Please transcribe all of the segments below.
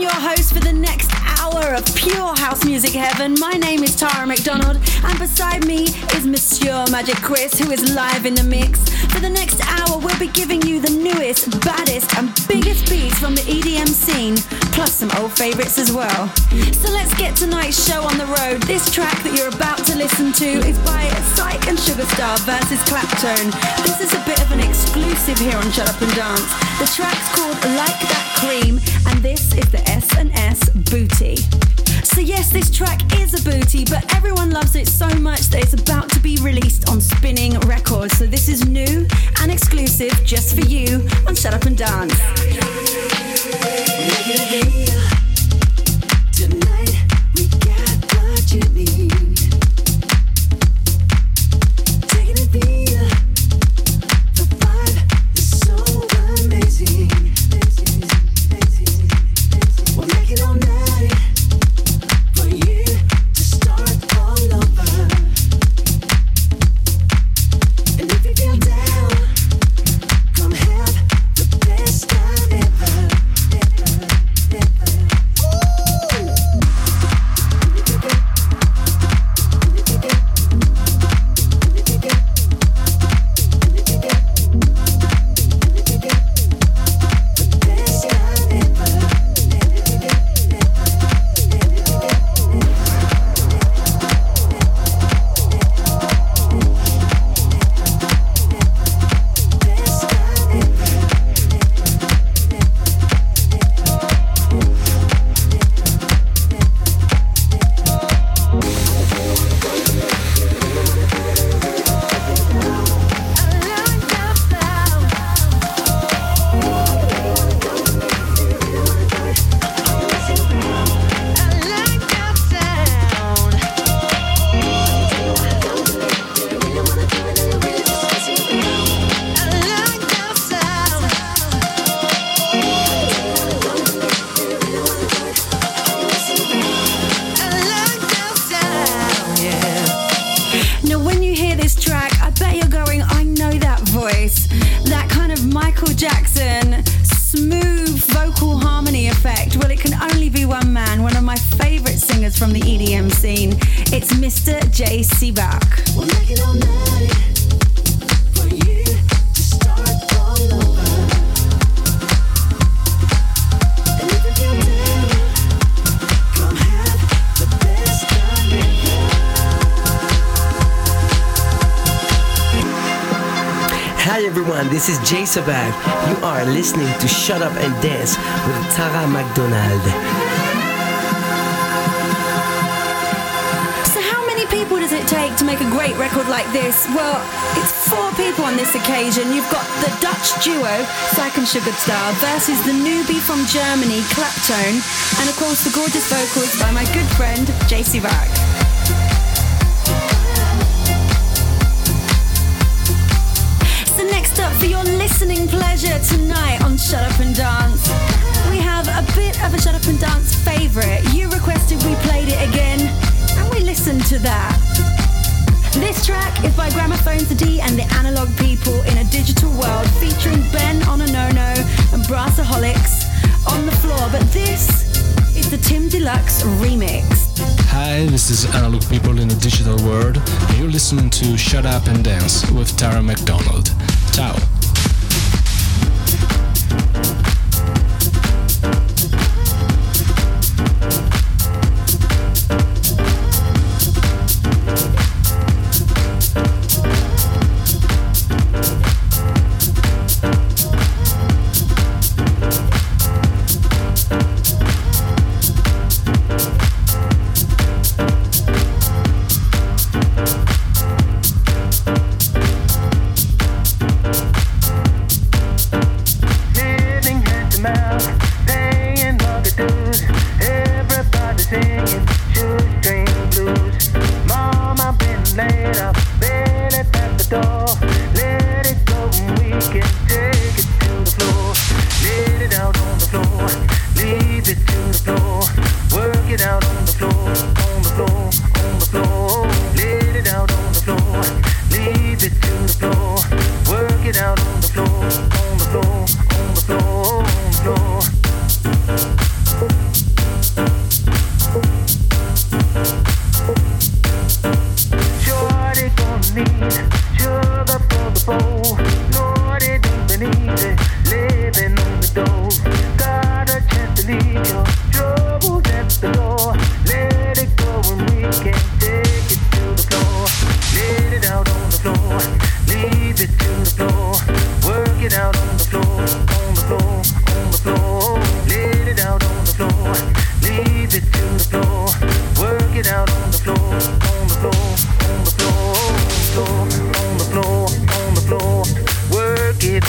your host for the next hour of pure house music heaven. My name is Tara McDonald, and beside me is Monsieur Magic Chris, who is live in the mix. For the next hour, we'll be giving you the newest, baddest, and biggest beats from the EDM scene, plus some old favorites as well. So let's get tonight's show on the road. This track that you're about to listen to is by Psych and Sugarstar versus Claptone. This is a bit of an exclusive here on Shut Up and Dance. The track's called Like That Cream, and this is the S&S Booty. So yes, this track is a booty, but everyone loves it so much that it's about to be released on Spinning Records. So this is new and exclusive just for you on Shut Up and Dance. Tonight we got what you need. Taking it via the vibe is so amazing. We'll make it all night for you to start all over. And if you feel down, come have the best time ever. This is Jay Sabag. You are listening to Shut Up and Dance with Tara McDonald. So how many people does it take to make a great record like this? Well, it's 4 people on this occasion. You've got the Dutch duo, Psych and Sugarstar, versus the newbie from Germany, Claptone, and of course the gorgeous vocals by my good friend, Jay Sabag. For your listening pleasure tonight on Shut Up and Dance, we have a bit of a Shut Up and Dance favourite. You requested we played it again, and we listened to that. This track is by Gramophones D and the Analog People in a Digital World, featuring Ben Ononono and Brassaholics on the floor. But this is the Tim Deluxe remix. Hi, this is Analog People in a Digital World, and you're listening to Shut Up and Dance with Tara McDonald. Ciao. easy, living on the dole. Got a chance to leave your troubles at the door. Let it go and we can take it to the floor. Let it out on the floor, leave it to the floor. Work it out on the floor, on the floor, on the floor. Let it out on the floor, leave it to the floor. Work it out on the floor, on the floor, on the floor, on the floor, on the floor. Work it.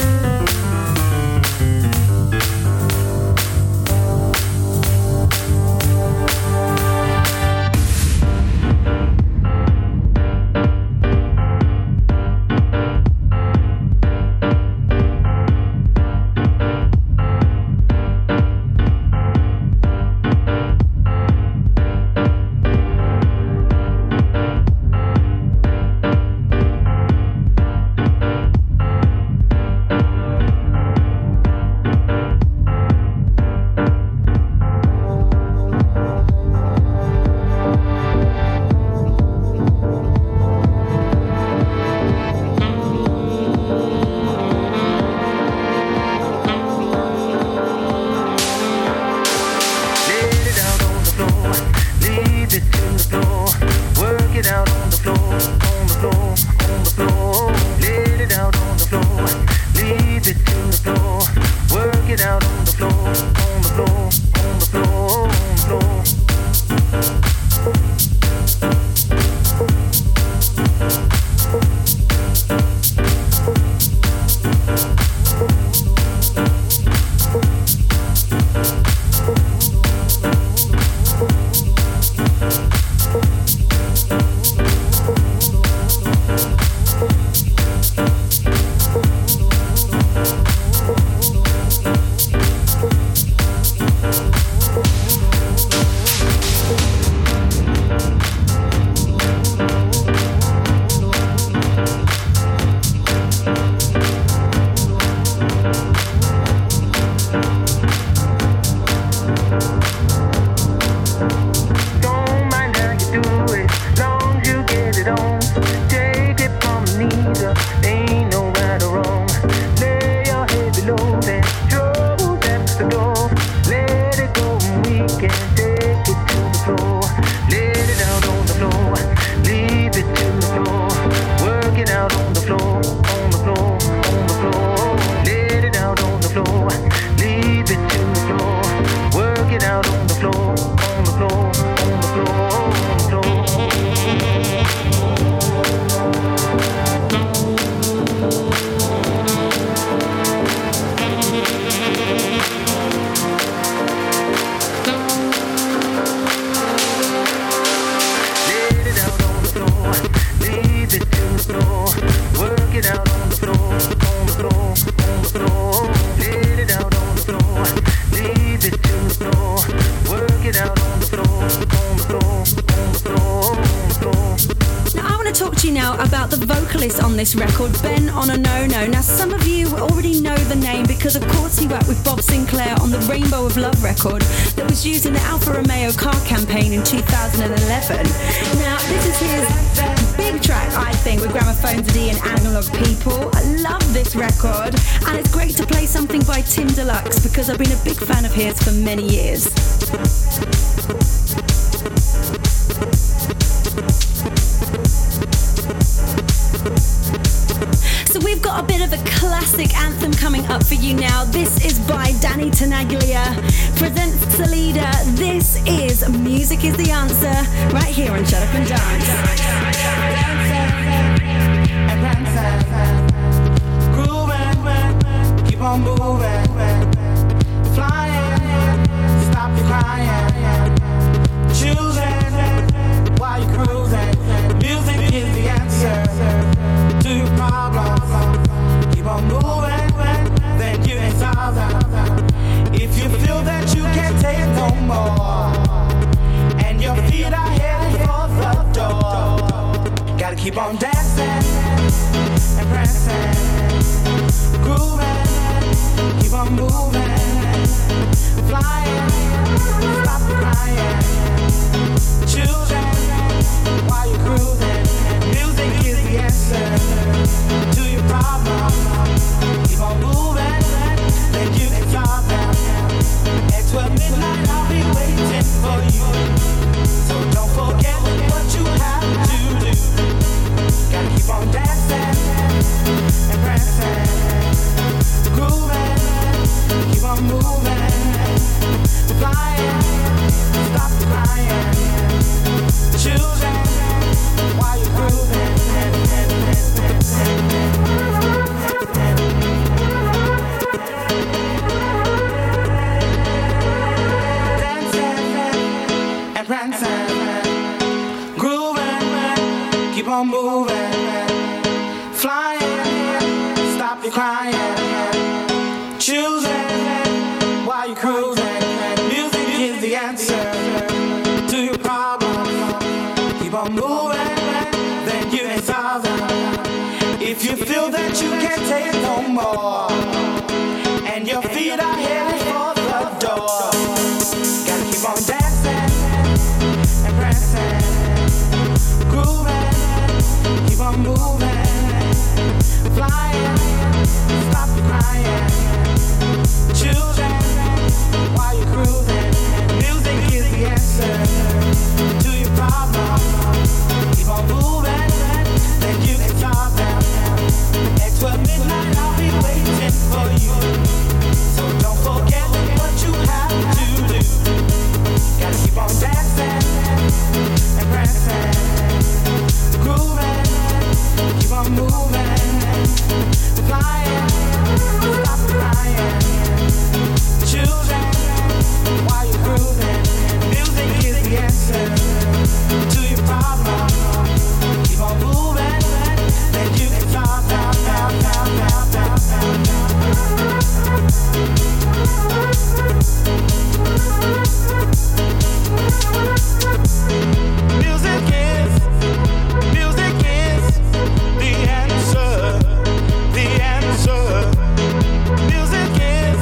This record, Ben on a No-No. Now some of you already know the name because of course he worked with Bob Sinclair on the Rainbow of Love record that was used in the Alfa Romeo car campaign in 2011. Now this is his big track, I think, with Gramophone D and Analog People. I love this record and it's great to play something by Tim Deluxe because I've been a big fan of his for many years. We've got a bit of a classic anthem coming up for you now. This is by Danny Tenaglia, presents Salida. This is Music is the Answer, right here on Shut Up and Dance. Grooving, keep on moving, flying, stop your crying, choosing while you're cruising. Music is the answer to your problems. Keep on moving, then you can solve them. If you feel that you can't take no more, and your feet are heading for the door, gotta keep on dancing and pressing, grooving, keep on moving, flying, stop crying, choosing while you're cruising. Music is the answer to your problem. keep on moving, then you can stop them. At 12 midnight I'll be waiting for you. So don't forget what you have to do. Gotta keep on dancing and prancing, grooving, keep on moving, flying, stop crying, choosing while you're grooving. Dancing and prancing, grooving, keep on moving, flying, stop your crying, choosing while you're cruising. Music is the answer to your problems. Keep on moving, then you can solve them. If you feel that you can't take no more, and your feet are headed for the door, gotta keep on dancing and prancing, grooving, keep on moving, flying, stop your crying, choosing while you're cruising. Music is the answer to your problem. Keep on moving, then you can solve them. At 12 midnight I'll be waiting for you. So don't forget what you have to do. Gotta keep on dancing and prancing, grooving, keep on moving, flying, stop crying, choosing while you're grooving. Music is the answer to your problem. Keep on moving, then you can stop, stop, stop, stop, stop, stop, stop. Music is the answer, the answer. Music is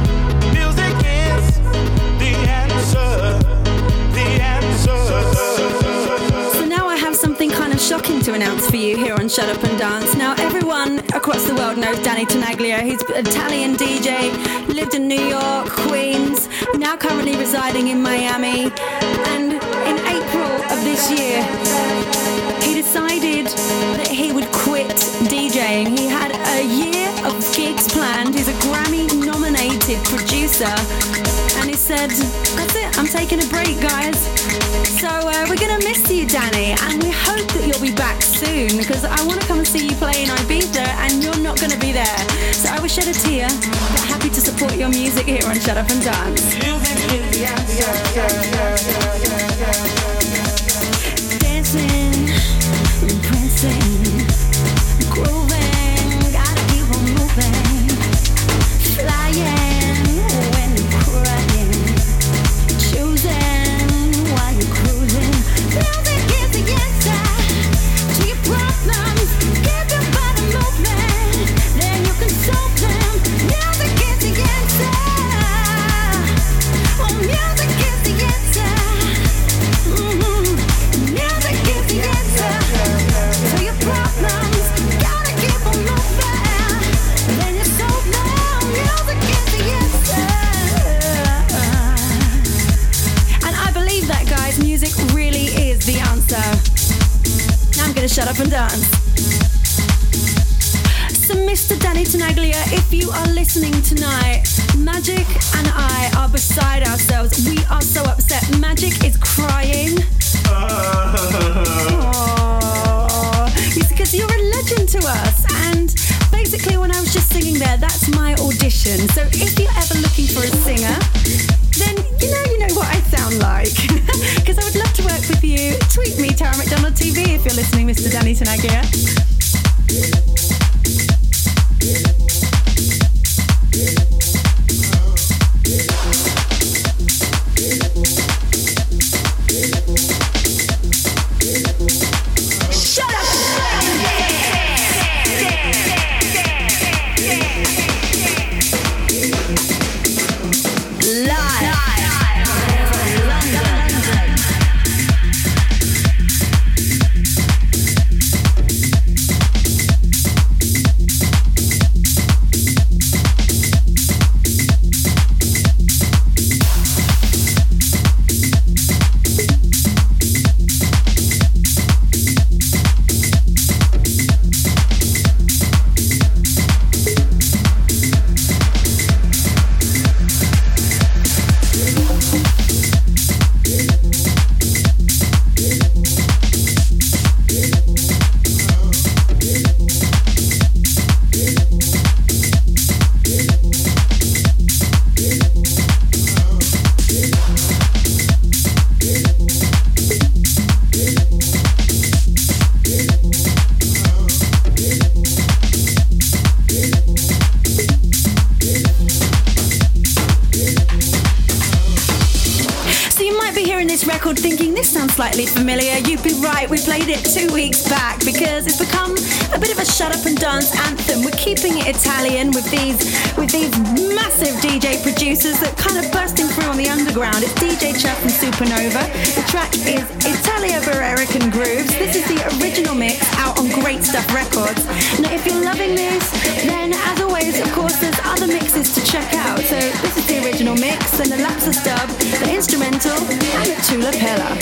the answer, the answer. So now I have something kind of shocking to announce for you here on Shut Up and Dance. Now everyone across the world knows Danny Tenaglia. He's an Italian DJ, lived in New York, Queens, now currently residing in Miami. And in April of this year, he decided that he would quit DJing. He had a year of gigs planned. He's a Grammy-nominated producer. And he said, that's it, I'm taking a break, guys. So we're going to miss you, Danny, and we hope that you'll be back soon, because I want to come and see you play in Ibiza, and you're not going to be there. So I will shed a tear, but happy to support your music here on Shut Up and Dance. Dancing, prancing, grooving, gotta keep on moving, flying when you're crying, choosing while you're cruising. Music is the answer to your problems. Get your body moving, then you can solve them. Music is the answer. Oh, music is the answer. Music is the answer to your problems. Gotta keep on moving, then you solve them. Music is the answer. And I believe that, guys. Music really is the answer. Now I'm gonna shut up and dance. So Mr. Danny Tenaglia, if you are listening tonight, Magic and I are beside ourselves. We are so upset. Magic is crying. Because you're a legend to us. And basically when I was just singing there, that's my audition. So if you're ever looking for a singer, then you know what I sound like. Because I would love to work with you. Tweet me, Tara McDonald TV, if you're listening, Mr. Danny Tenaglia. record thinking this sounds slightly familiar, you'd be right. We played it 2 weeks back because it's become a bit of a shut up and dance anthem. We're keeping it Italian with these massive DJ producers that kind of bursting through on the underground. It's DJ Chuck and Supernova. The track is Italia Barreric and Grooves. This is the original mix out on Great Stuff Records. Now, if you're loving this, then as always, of course, there's other mixes to check out. So this is the original mix, and the Lapsus dub, the instrumental, and the Tula Pella.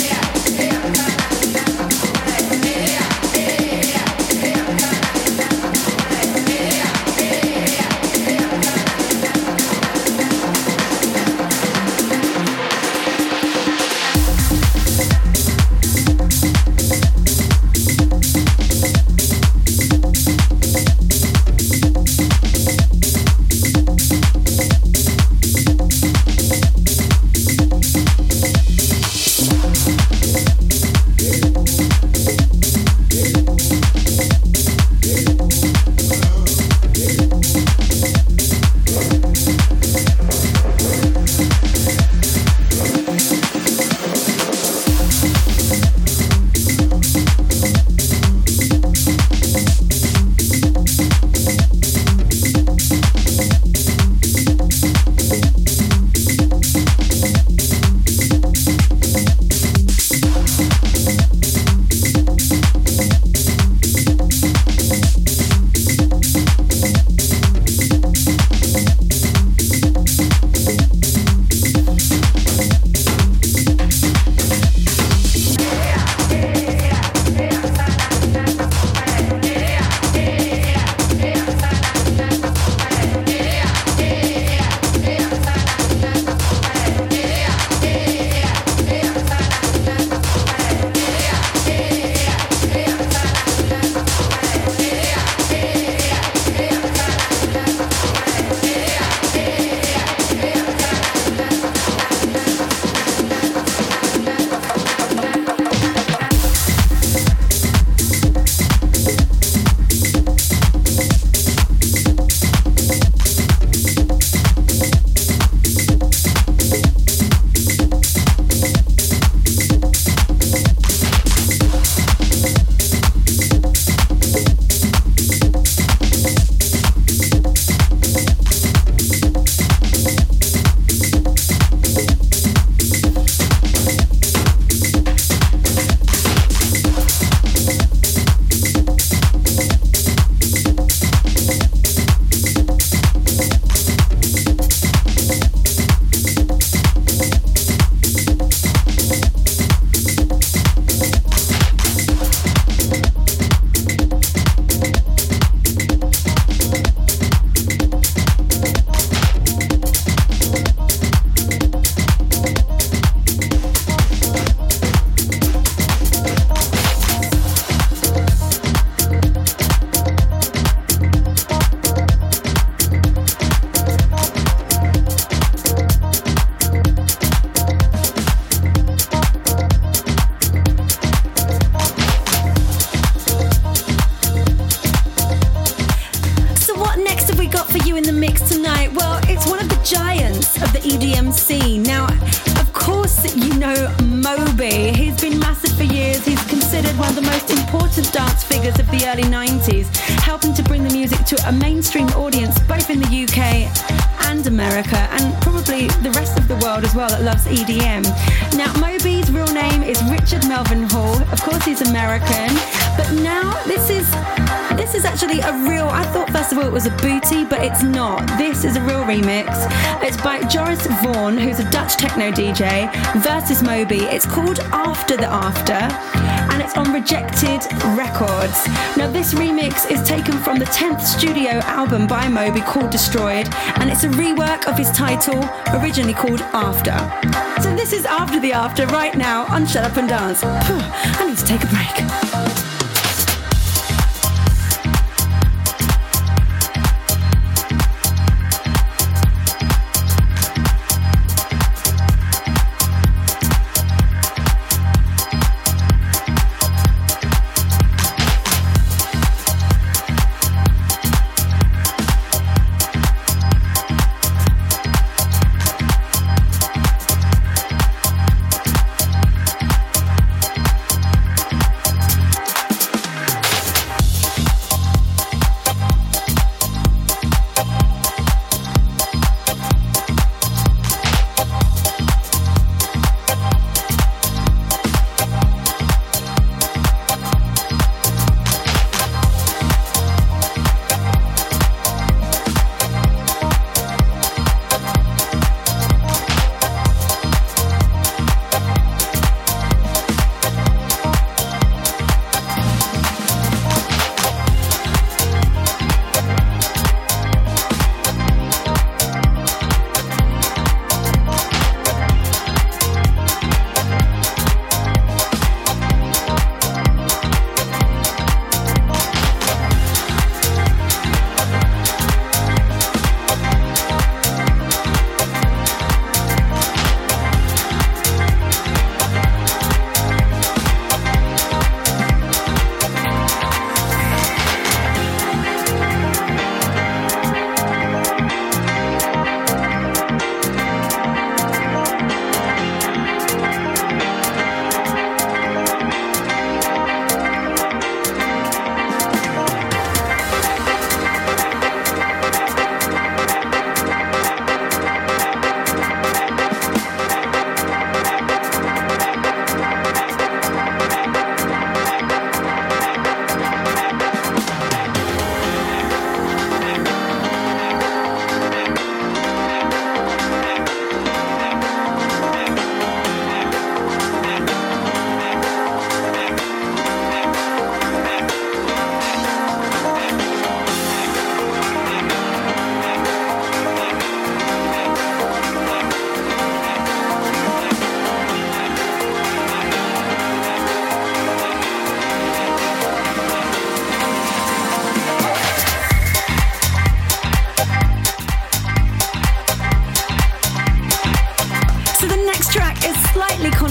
Moby. He's been massive for years. He's considered one of the most important dance figures of the early 90s, helping to bring the music to a mainstream audience both in the UK and America, and probably the rest of the world as well that loves EDM. Now, Moby's real name is Richard Melvin Hall. Of course, he's American, but now this is actually a real, I thought first of all it was a booty, but it's not. This is a real remix. It's by Joris Vaughan, who's a Dutch techno DJ, versus Moby. It's called After the After, and it's on Rejected Records. Now, this remix is taken from the 10th studio album by Moby called Destroyed, and it's a rework of his title, originally called After. So this is After the After right now on Shut Up and Dance. I need to take a break.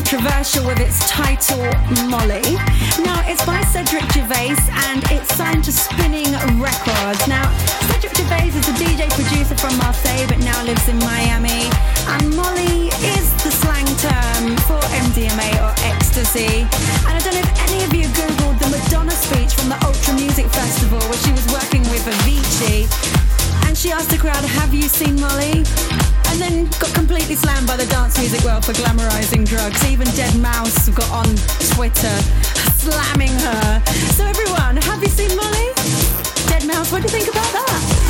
controversial with its title, Molly. Now, it's by Cedric Gervais and it's signed to Spinning Records. Now, Cedric Gervais is a DJ producer from Marseille but now lives in Miami. And Molly is the slang term for MDMA or ecstasy. And I don't know if any of you Googled the Madonna speech from the Ultra Music Festival where she was working with Avicii. And she asked the crowd, have you seen Molly? And then got completely slammed by the dance music world for glamorizing drugs. Even Deadmau5 got on Twitter slamming her. So everyone, have you seen Molly? Deadmau5, what do you think about that?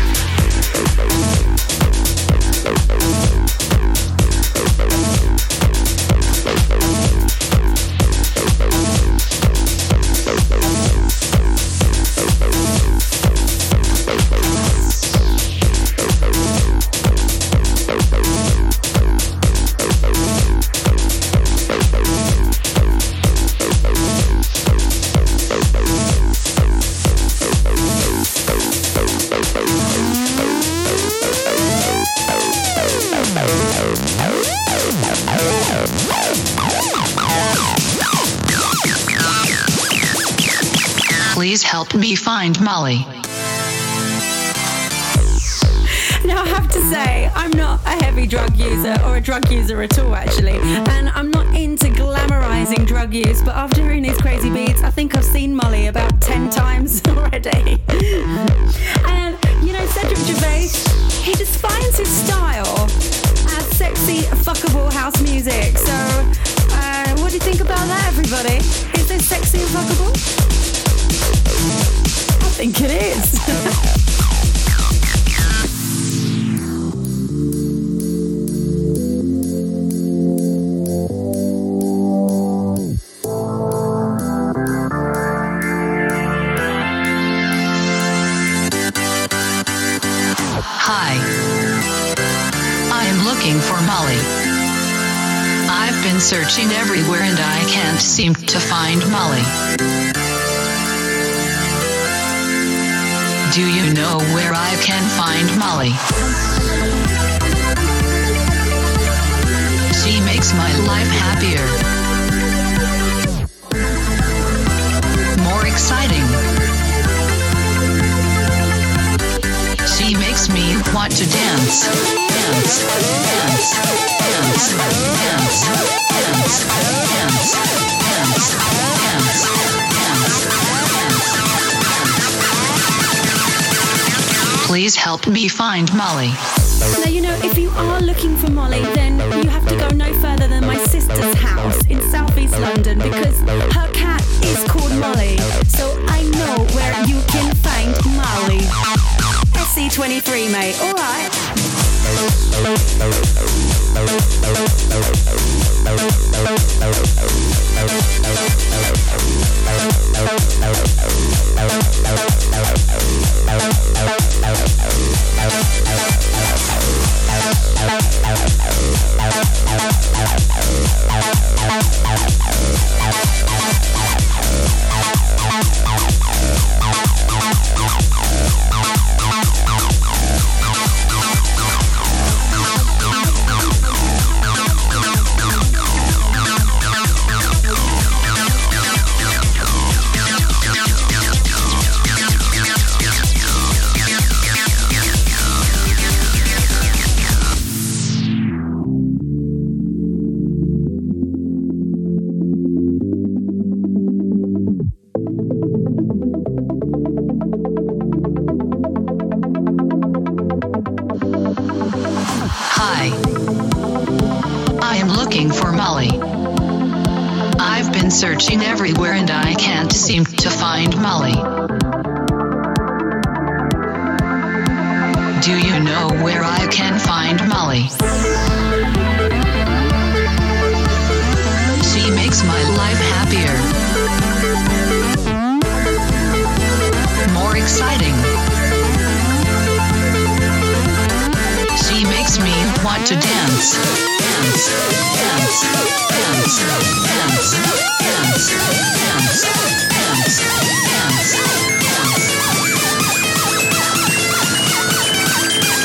Please help me find Molly. Now I have to say, I'm not a heavy drug user or a drug user at all actually, and I'm not into glamorizing drug use, but after hearing these crazy beats, I think I've seen Molly about 10 times already. And you know, Cedric Gervais, he defines his style as sexy, fuckable house music. So what do you think about that, everybody? Is this sexy and fuckable? I think it is. Hi. I am looking for Molly. I've been searching everywhere and I can't seem to find Molly. Do you know where I can find Molly? She makes my life happier, more exciting. She makes me want to dance, dance, dance, dance, dance, dance, dance, dance, dance, dance. Please help me find Molly. Now, you know, if you are looking for Molly, then you have to go no further than my sister's house in southeast London because her cat is called Molly. So I know where you can find Molly. SC23, mate. All right. Searching everywhere and I can't seem to find Molly. Do you know where I can find Molly? She makes my life happier, more exciting. She makes me want to dance, dance, dance, dance, dance, dance, dance, dance, dance,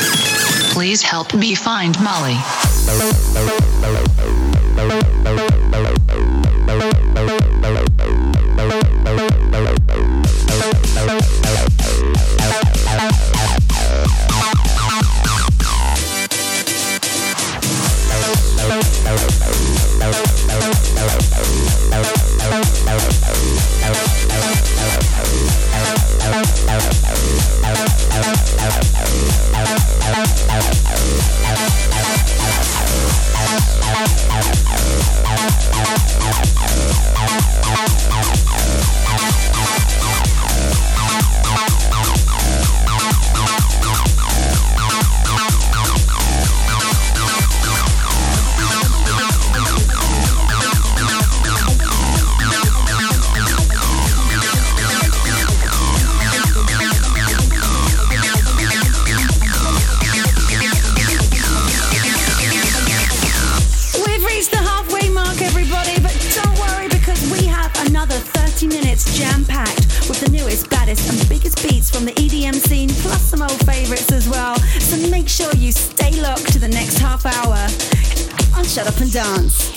dance. Please help me find Molly. Shut Up and Dance.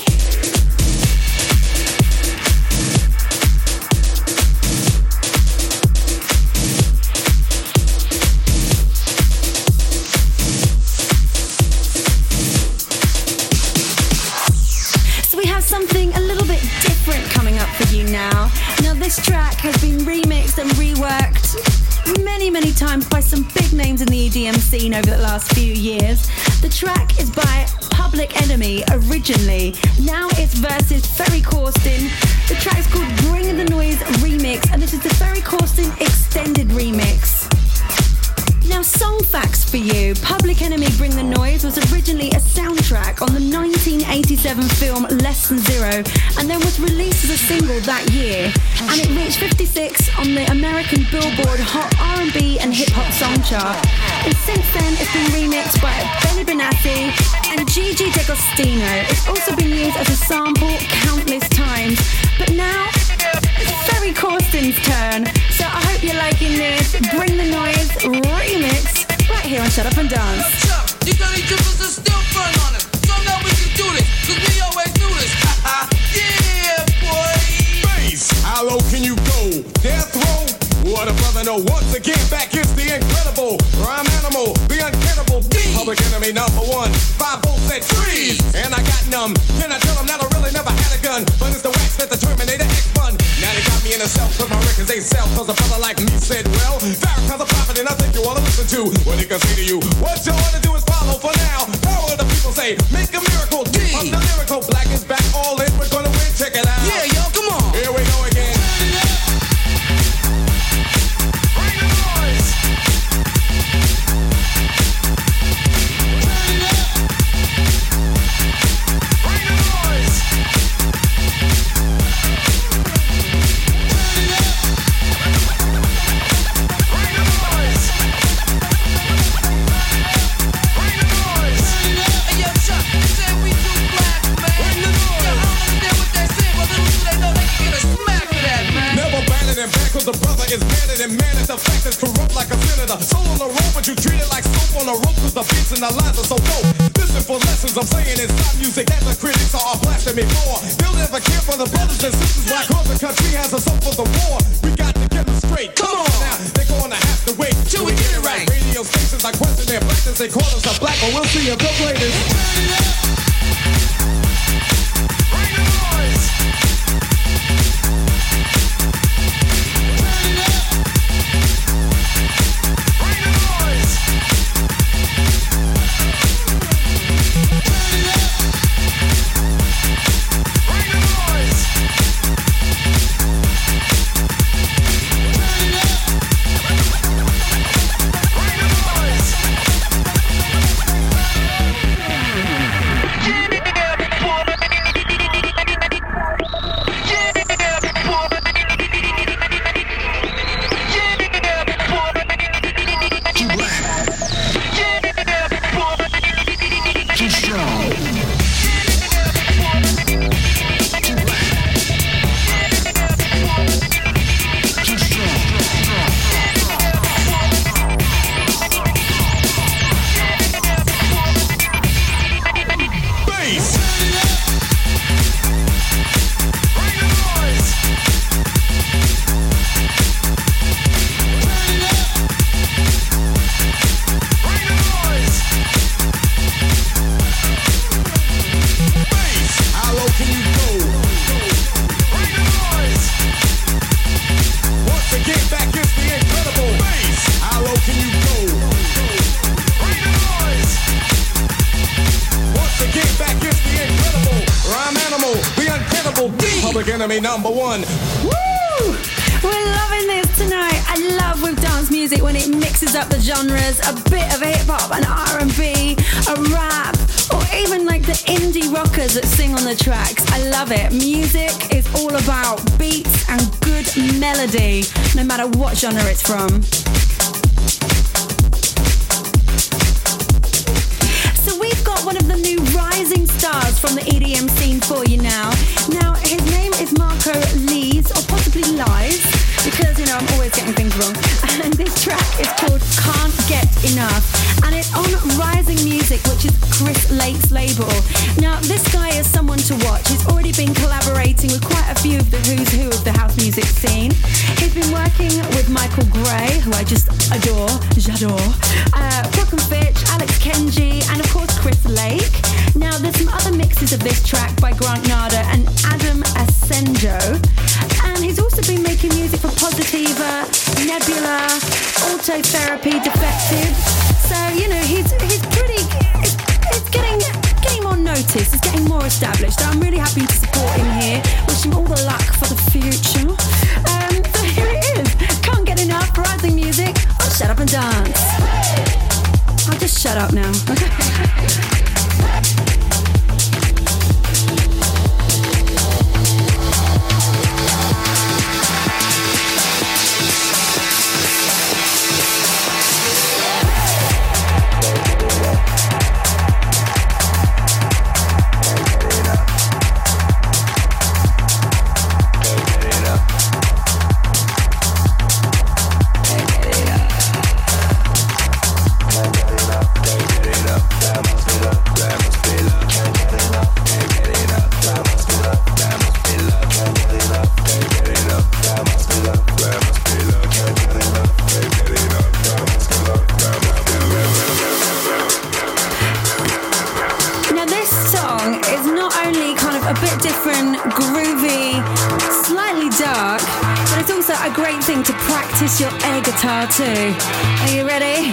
So we have something a little bit different coming up for you now. Now this track has been remixed and reworked many times by some big names in the EDM scene over the last few years. The track is by Public Enemy originally. Now it's versus Ferry Corsten. The track's called Bring the Noise Remix, and this is the Ferry Corsten extended remix. Now, song facts for you. Public Enemy Bring the Noise was originally a soundtrack on the 1987 film Less Than Zero, and then was released as a single that year. And it reached 56 on the American Billboard Hot R&B and Hip Hop Song Chart. And since then, it's been remixed by Benny Benassi and Gigi D'Agostino. It's also been used as a sample countless times. But now, it's Ferry Corsten's turn. So I hope you're liking this Bring the Noise remix right here on Shut Up and Dance. You got any dribbles and still burn on it. So now we can do this, cause we always do this. Yeah, boy. Bass, how low can you go? Death row? What a brother, no. Once again, back is the incredible rhyme animal, the uncannibal Public Enemy #1, 5 volts at trees, and I got numb. Can I tell them that I really never had a gun? But it's the wax that the Terminator X fun. Now they got me in a cell, cause my records ain't sell. Cause a brother like me said, well, Farrakhan's a prophet, and I think you wanna listen to what he can say to you. What you wanna do is follow for now. Power the people say, make a miracle. I'm the lyrical, black is back, all in, we're gonna win, check it out. Yeah, yo, come on. Here we go again. Cause the brother is better than man. It's the fact that's corrupt like a senator. Soul on the rope, but you treat it like soap on a rope. Cause the beats and the lines are so dope. Listen for lessons I'm saying it's not music that the critics are blasting me for. They'll never care for the brothers and sisters. Why cause the country has a soul for the war. We got to get them straight. Come on now, they're gonna have to wait till we get it right. Radio stations I question their blackness. They call us a black, but we'll see if they'll play this. Bring the noise. enemy number one. Woo! We're loving this tonight. I love with dance music when it mixes up the genres, a bit of hip hop and R&B, a rap, or even like the indie rockers that sing on the tracks. I love it. Music is all about beats and good melody, no matter what genre it's from. So we've got one of the new rising stars from the EDM scene for you now. Now, his name is Marco Lees, or possibly Lies, because, you know, I'm always getting things wrong. And this track is called Can't Get Enough, and it's on Rising Music, which is Chris Lake's label. Now, this guy is someone to watch. He's already been collaborating with quite a few of the who's who of the house music scene. He's been working with Michael Gray, who I just adore, j'adore, Brock and Fitch, Alex Kenji, and of course Chris Lake. Now, there's some other mixes of this track by Grant Nada and Adam Asenjo. And he's also been making music for Positiva, Nebula, Autotherapy, Defected. So, you know, he's pretty, it's getting more notice, it's getting more established. I'm really happy to support him here. Wish him all the luck for the future. So here it is. Can't Get Enough, Rising Music on Shut Up and Dance. I'll just shut up now. To practice your air guitar too. Are you ready?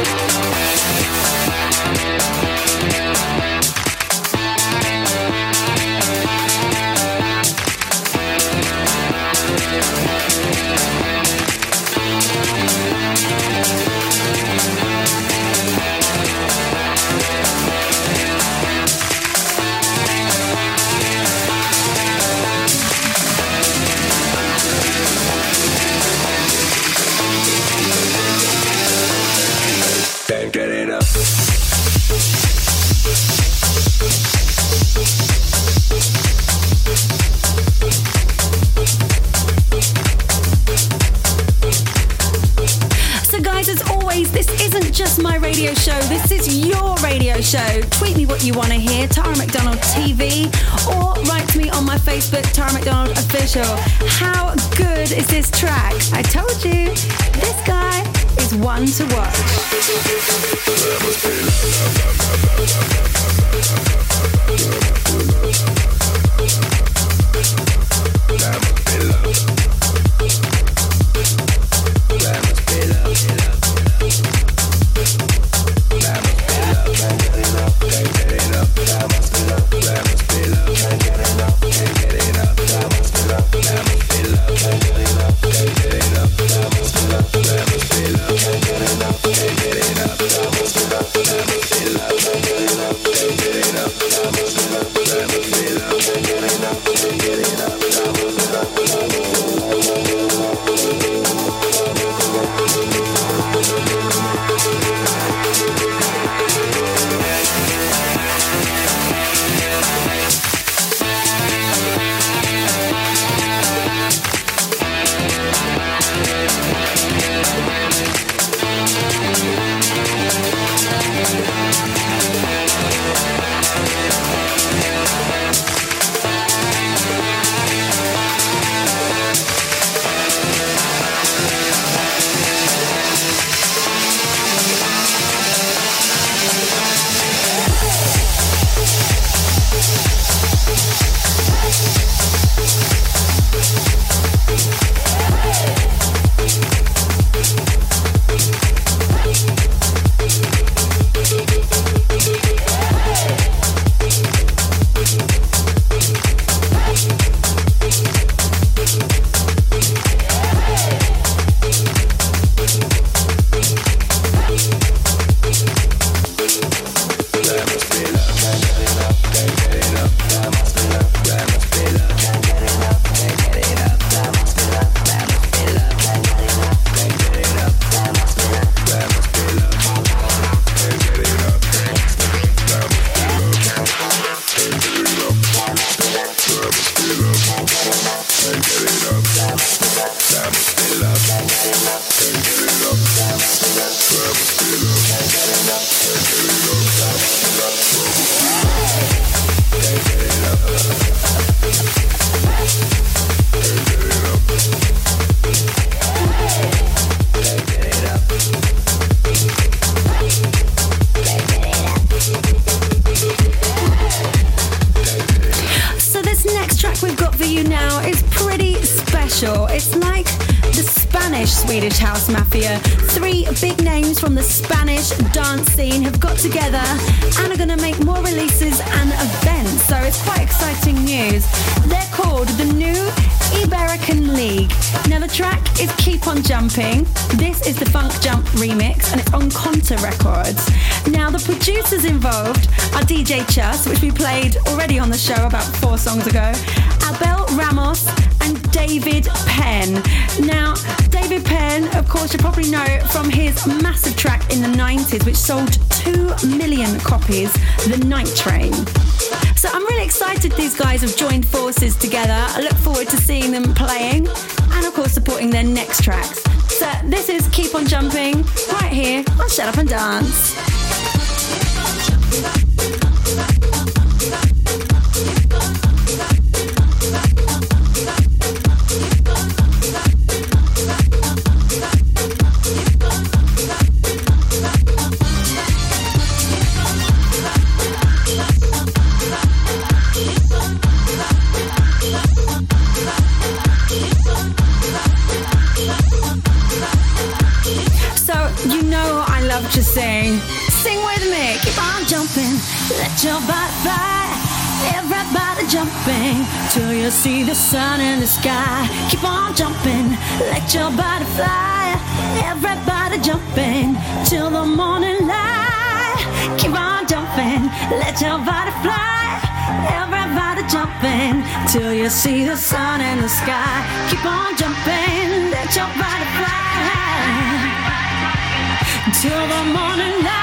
Just my radio show. This is your radio show. Tweet me what you want to hear, Tara McDonald TV, or write to me on my Facebook, Tara McDonald Official. How good is this track? I told you, this guy is one to watch. Can't get enough. sure. It's like the Spanish-Swedish house mafia. 3 big names from the Spanish dance scene have got together and are going to make more releases and events, so it's quite exciting news. They're called the New Iberican League. Now the track is Keep On Jumping. This is the Funk Jump remix and it's on Conta Records. Now the producers involved are DJ Chus, which we played already on the show about 4 songs ago, Abel Ramos and David Penn. Now David Penn, of course, you probably know from his massive track in the 90s which sold 2 million copies, The Night Train. So I'm really excited these guys have joined forces together. I look forward to seeing them playing and of course supporting their next tracks. So this is Keep On Jumping right here on Shut Up and Dance. To sing with me, keep on jumping, let your body fly. Everybody jumping till you see the sun in the sky. Keep on jumping, let your body fly. Everybody jumping till the morning light. Keep on jumping, let your body fly. Everybody jumping till you see the sun in the sky. Keep on jumping, let your body fly till the morning light.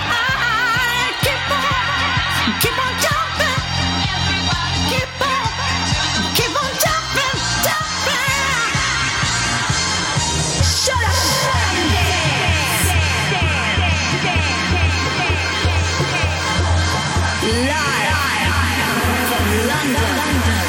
Keep on jumping. Keep on jumping, jumping. Shut up. Live from London.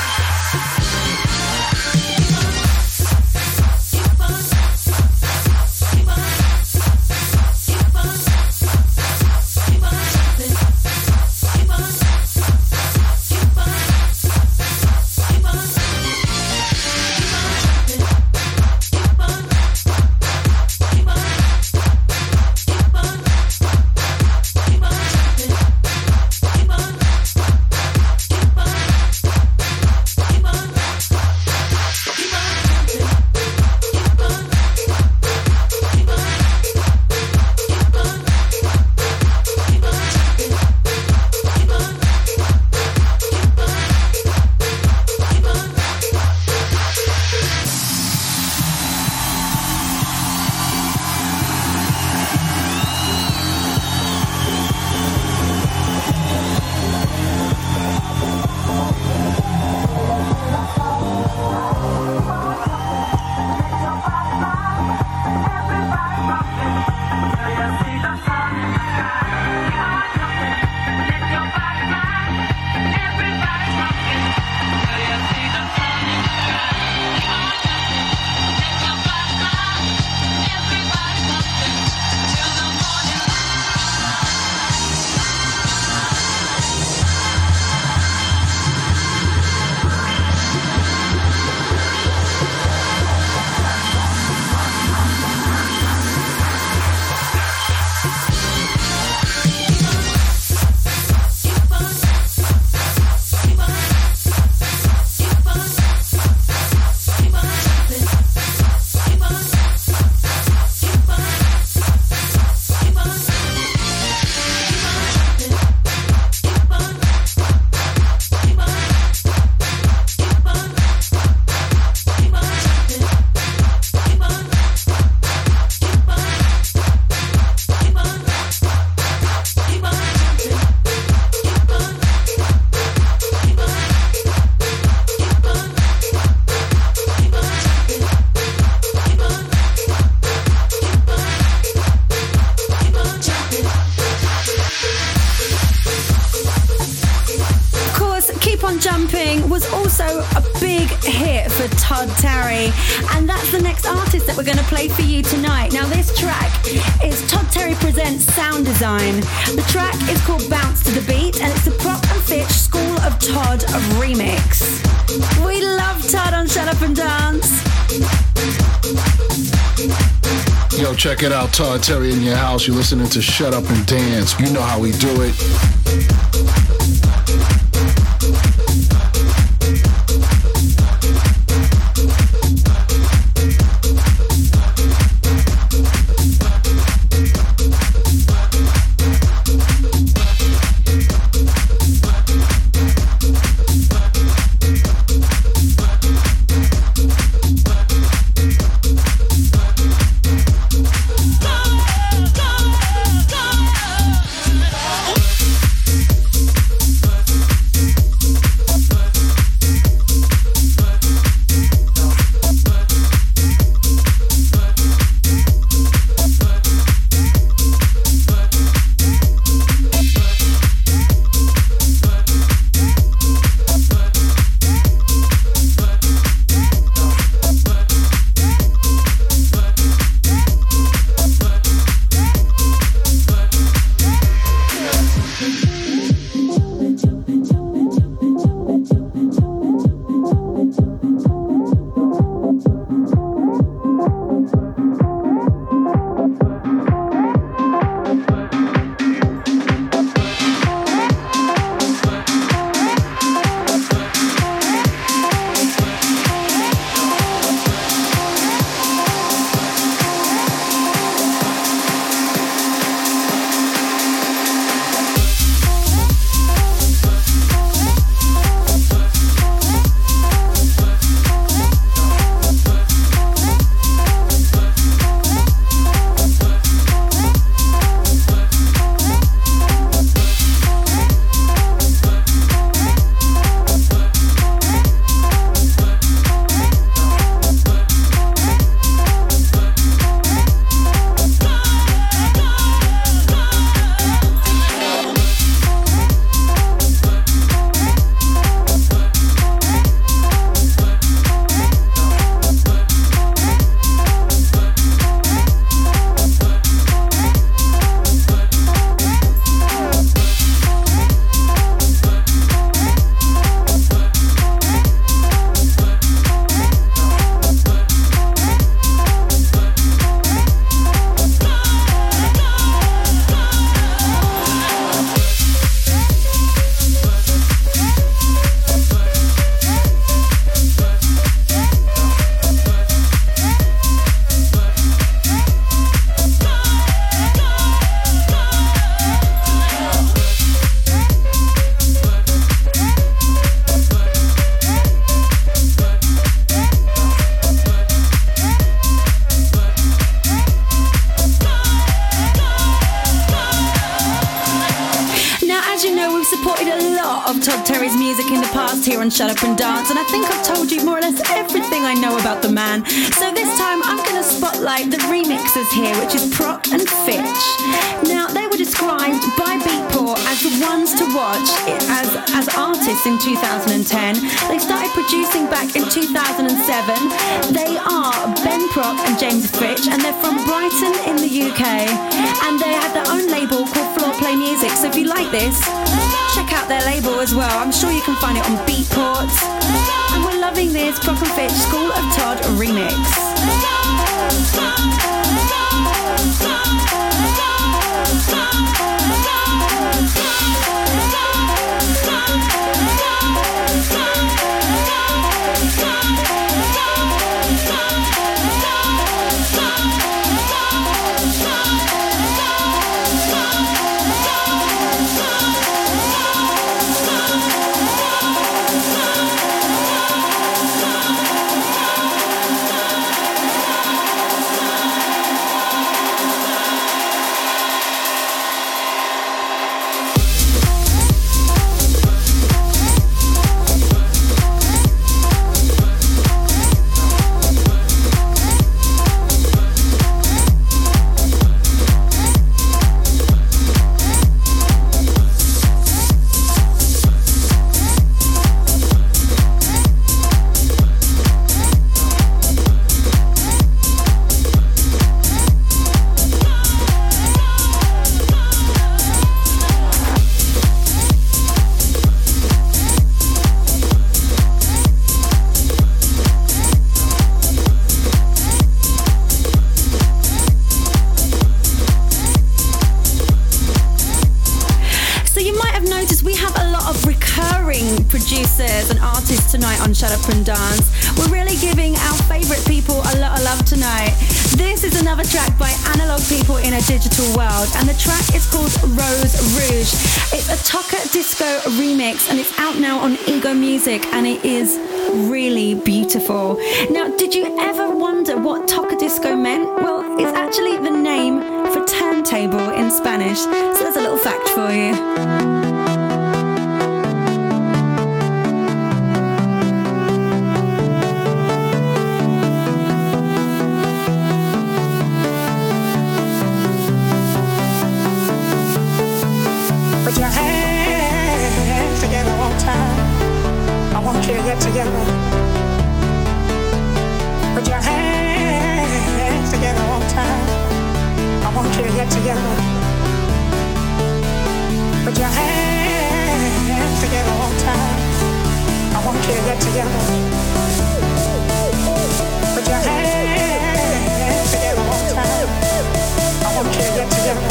Was also a big hit for Todd Terry, and that's the next artist that we're going to play for you tonight. Now this track is Todd Terry Presents Sound Design. The track is called Bounce to the Beat, and it's the Prop and Fitch School of Todd remix. We love Todd on Shut Up and Dance. Yo, check it out, Todd Terry in your house. You're listening to Shut Up and Dance. You know how we do it. Here on Shut Up and Dance, and I think I've told you more or less everything I know about the man. So this time I'm going to spotlight the remixers here, which is Proc and Fitch. Now, they were described by Beatport as the ones to watch as artists in 2010. They started producing back in 2007. They are Ben Proc and James Fitch, and they're from Brighton in the UK, and they have their own label called Floor Play Music. So if you like this, check out their label as well. I'm sure you can find it on Beatport. And we're loving this Proc and Fitch School of Todd remix. we have a lot of recurring producers and artists tonight on Shut Up and Dance. We're really giving our favourite people a lot of love tonight. This is another track by Analog People in a Digital World, and the track is called Rose Rouge. It's a Toca Disco remix, and it's out now on Ego Music, and it is really beautiful. Now, did you ever wonder what Toca Disco meant? Well, it's actually the name for turntable in Spanish, so there's a little fact for you. Put your hands together one time. I want you to get together. Put your hands together one time. I want you to get together. Put your hands together one time. I want you to get together. Put your hands together one time. I want you to get together.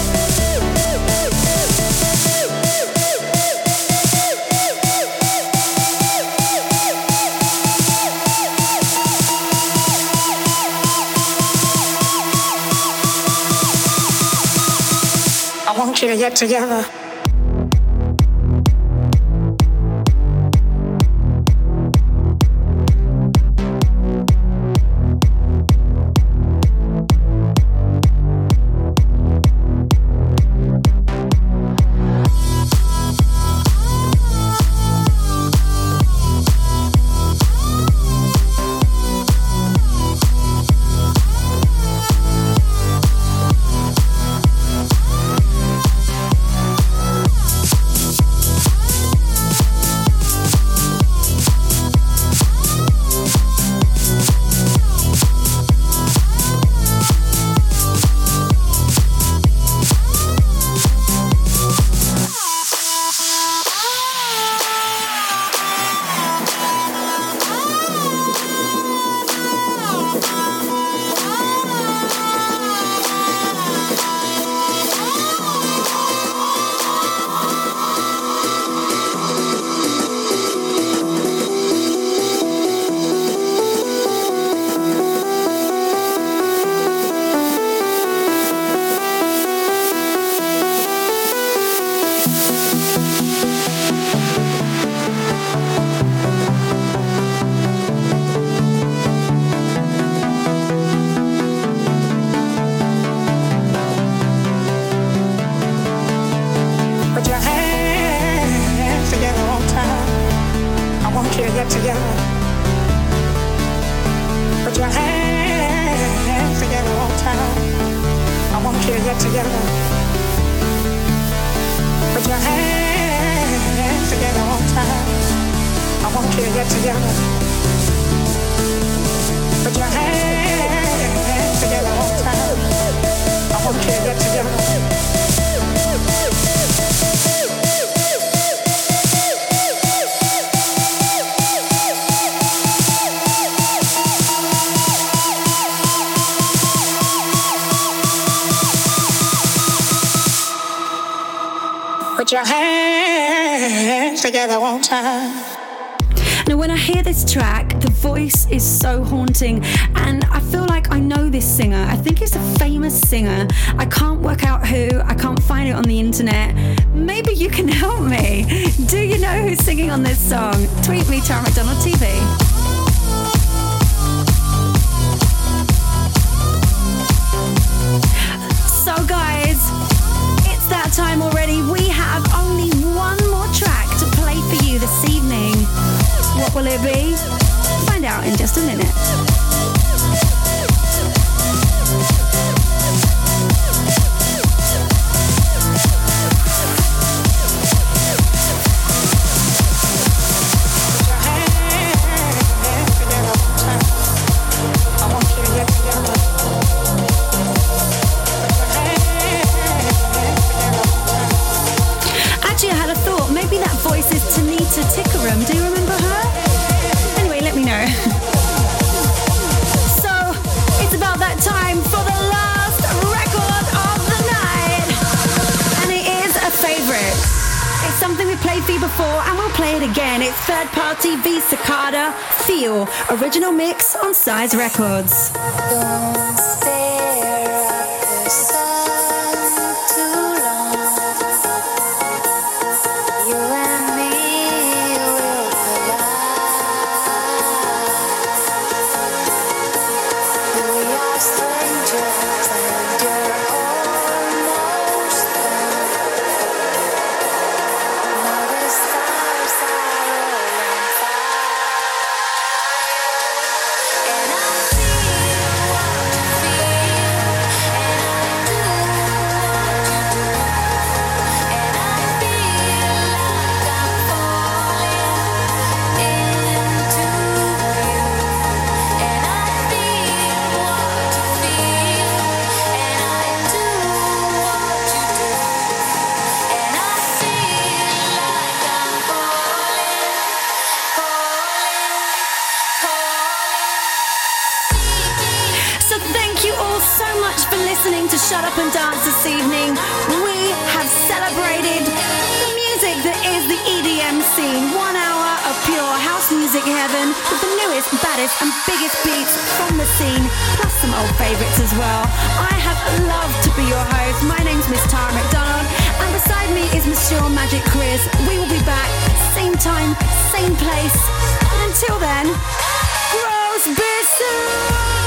I want you to get together. Put your hands together one time. Now, when I hear this track, the voice is so haunting, and I feel like I know this singer. I think he's a famous singer. I can't work out who. I can't find it on the internet. Maybe you can help me. Do you know who's singing on this song? Tweet me, Tara McDonald TV. So guys, it's that time already. We have only one more track to play for you this evening. What will it be? Find out in just a minute. Do you remember her? Anyway, let me know. something we played for you before, and we'll play it again. It's Third Party V Cicada, Feel, original mix on Size Records. Don't stare at the sun too long. You and me will collide. We are strangers and you're almost gone. Now the stars are rolling fire, and I feel what you feel, and I do what you do, and I feel like I'm falling into you, and I feel what you feel, and I do what you do, and I feel like I'm falling. So thank you all so much for listening to Shut Up and Dance this evening. We have celebrated the music that is the EDM scene. 1 hour of pure house music heaven with the newest, baddest and biggest beats from the scene, plus some old favourites as well. I have loved to be your host. My name's Miss Tara McDonald, and beside me is Monsieur Magic Chris. We will be back, same time, same place. And until then, gross bisous!